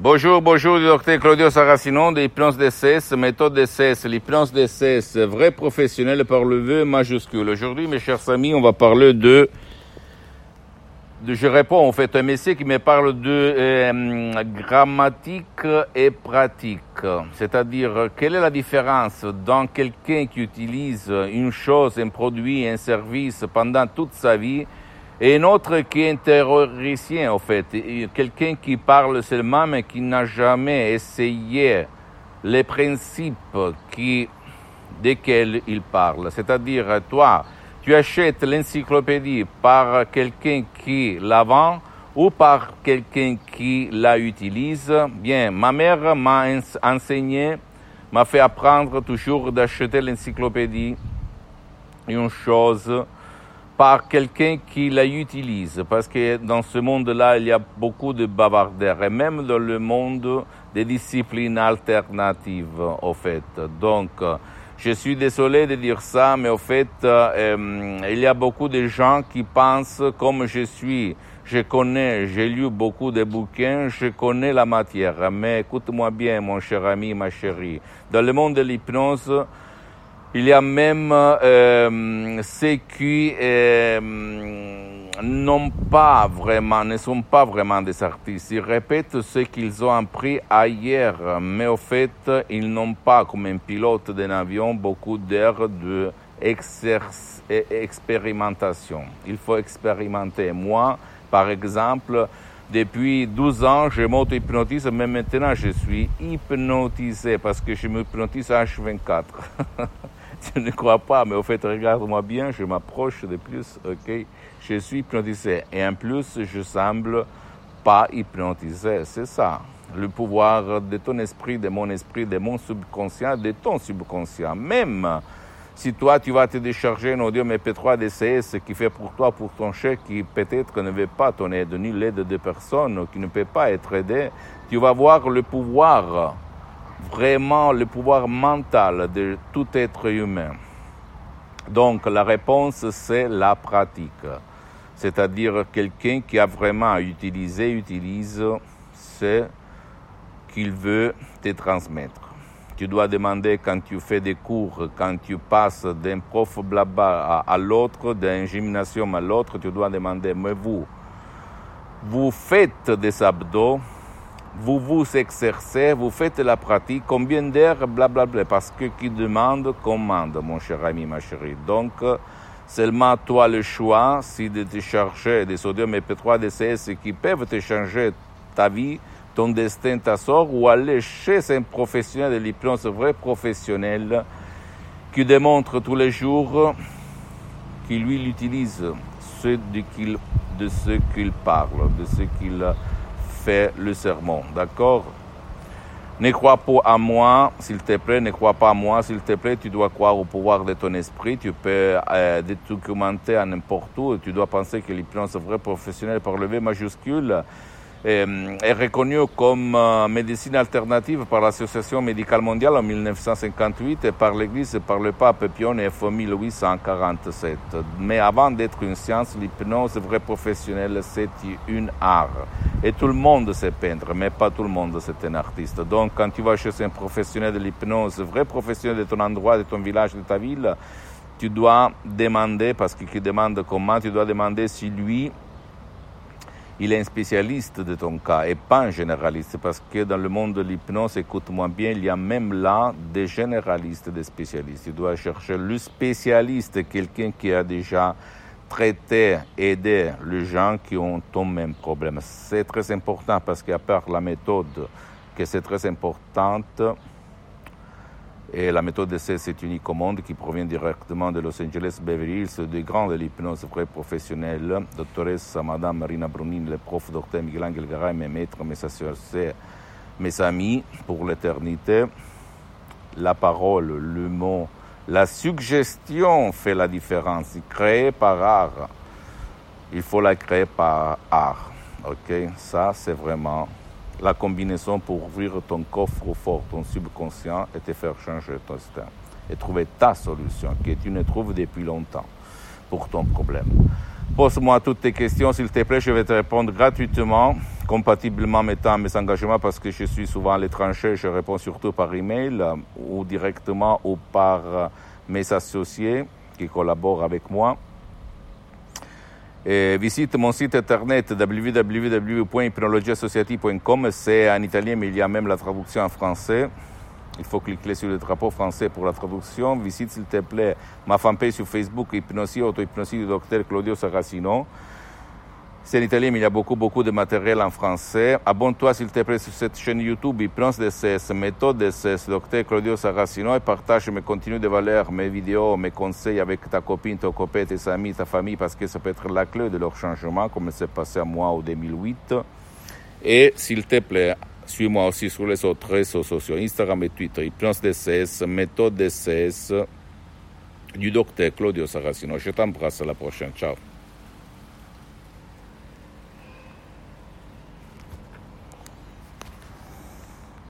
Bonjour, docteur Claudio Saracino de l'hypnose DCS, méthode DCS, l'hypnose DCS, vrai professionnel par le V majuscule. Aujourd'hui, mes chers amis, on va parler je réponds en fait à un monsieur qui me parle de grammatique et pratique. C'est-à-dire, quelle est la différence dans quelqu'un qui utilise une chose, un produit, un service pendant toute sa vie et un autre qui est théoricien, en fait. Quelqu'un qui parle seulement, mais qui n'a jamais essayé les principes desquels il parle. C'est-à-dire, toi, tu achètes l'encyclopédie par quelqu'un qui la vend ou par quelqu'un qui la utilise. Bien, ma mère m'a enseigné, m'a fait apprendre toujours d'acheter l'encyclopédie, une chose, par quelqu'un qui la utilise, parce que dans ce monde-là, il y a beaucoup de bavardaires, et même dans le monde des disciplines alternatives, au fait. Donc, je suis désolé de dire ça, mais au fait, il y a beaucoup de gens qui pensent comme je suis. J'ai lu beaucoup de bouquins, je connais la matière, mais écoute-moi bien, mon cher ami, ma chérie. Dans le monde de l'hypnose, il y a même ceux qui ne sont pas vraiment des artistes. Ils répètent ce qu'ils ont appris ailleurs, mais au fait, ils n'ont pas, comme un pilote d'un avion, beaucoup d'heures d'expérimentation. Il faut expérimenter. Moi, par exemple, depuis 12 ans, je m'auto-hypnotise, mais maintenant je suis hypnotisé parce que je m'hypnotise H24. Tu ne crois pas, mais au fait, regarde-moi bien, je m'approche de plus, ok? Je suis hypnotisé. Et en plus, je semble pas hypnotisé. C'est ça. Le pouvoir de ton esprit, de mon subconscient, de ton subconscient. Même si toi, tu vas te décharger un audio MP3 DCS qui fait pour toi, pour ton chèque, qui peut-être ne veut pas ton aide, ni l'aide de personne, qui ne peut pas être aidé, tu vas voir le pouvoir, vraiment le pouvoir mental de tout être humain. Donc la réponse, c'est la pratique. C'est-à-dire quelqu'un qui a vraiment utilise ce qu'il veut te transmettre. Tu dois demander quand tu fais des cours, quand tu passes d'un prof blabla à l'autre, d'un gymnasium à l'autre, tu dois demander, mais vous faites des abdos, vous vous exercez, vous faites la pratique, combien d'heures, blablabla, parce que qui demande, commande, mon cher ami, ma chérie. Donc, seulement toi le choix, si de te chercher des sodium MP3 DCS qui peuvent te changer ta vie, ton destin, ta sort, ou aller chez un professionnel de l'hypnose, vrai professionnel, qui démontre tous les jours qu'il lui utilise de ce qu'il parle, de ce qu'il fait le sermon, d'accord? Ne crois pas à moi, s'il te plaît, ne crois pas à moi, s'il te plaît, tu dois croire au pouvoir de ton esprit, tu peux te documenter à n'importe où, tu dois penser que l'hypnose vrai professionnel par le V majuscule est reconnue comme médecine alternative par l'Association médicale mondiale en 1958 et par l'Église et par le pape Pie IX en 1847. Mais avant d'être une science, l'hypnose vrai professionnelle, c'est une art. Et tout le monde sait peindre, mais pas tout le monde c'est un artiste. Donc quand tu vas chez un professionnel de l'hypnose, vrai professionnel de ton endroit, de ton village, de ta ville, tu dois demander, parce qu'il demande comment, tu dois demander si lui, il est un spécialiste de ton cas et pas un généraliste, parce que dans le monde de l'hypnose, écoute-moi bien, il y a même là des généralistes, des spécialistes. Tu dois chercher le spécialiste, quelqu'un qui a déjà traité, aidé les gens qui ont ton même problème. C'est très important parce qu'à part la méthode, que c'est très importante, et la méthode d'essai, c'est unique au monde, qui provient directement de Los Angeles, Beverly Hills, des grands de l'hypnose vrai professionnelle, doctoresse Madame Marina Brunin, le prof docteur Miguel Angel Garay, mes maîtres, mes associés, mes amis pour l'éternité. La parole, le mot, la suggestion fait la différence. Créée par art, il faut la créer par art. Ok, ça c'est vraiment la combinaison pour ouvrir ton coffre fort, ton subconscient et te faire changer ton destin et trouver ta solution que tu ne trouves depuis longtemps pour ton problème. Pose-moi toutes tes questions, s'il te plaît, je vais te répondre gratuitement. compatiblement mettant mes engagements parce que je suis souvent à l'étranger, je réponds surtout par email ou directement ou par mes associés qui collaborent avec moi. Et visite mon site internet www.hypnologieassociative.com, c'est en italien mais il y a même la traduction en français. Il faut cliquer sur le drapeau français pour la traduction. Visite s'il te plaît ma fanpage sur Facebook, Hypnosie, Auto-hypnosie du docteur Claudio Saracino. C'est en italien, mais il y a beaucoup de matériel en français. Abonne-toi s'il te plaît sur cette chaîne YouTube, Hypnose DCS, méthode DCS, docteur Claudio Saracino, et partage mes contenus de valeur, mes vidéos, mes conseils avec ta copine, ton copain, tes amis, ta famille, parce que ça peut être la clé de leur changement, comme c'est passé à moi en 2008. Et s'il te plaît, suis-moi aussi sur les autres réseaux sociaux, Instagram et Twitter, Hypnose DCS, méthode DCS, du docteur Claudio Saracino. Je t'embrasse, à la prochaine. Ciao.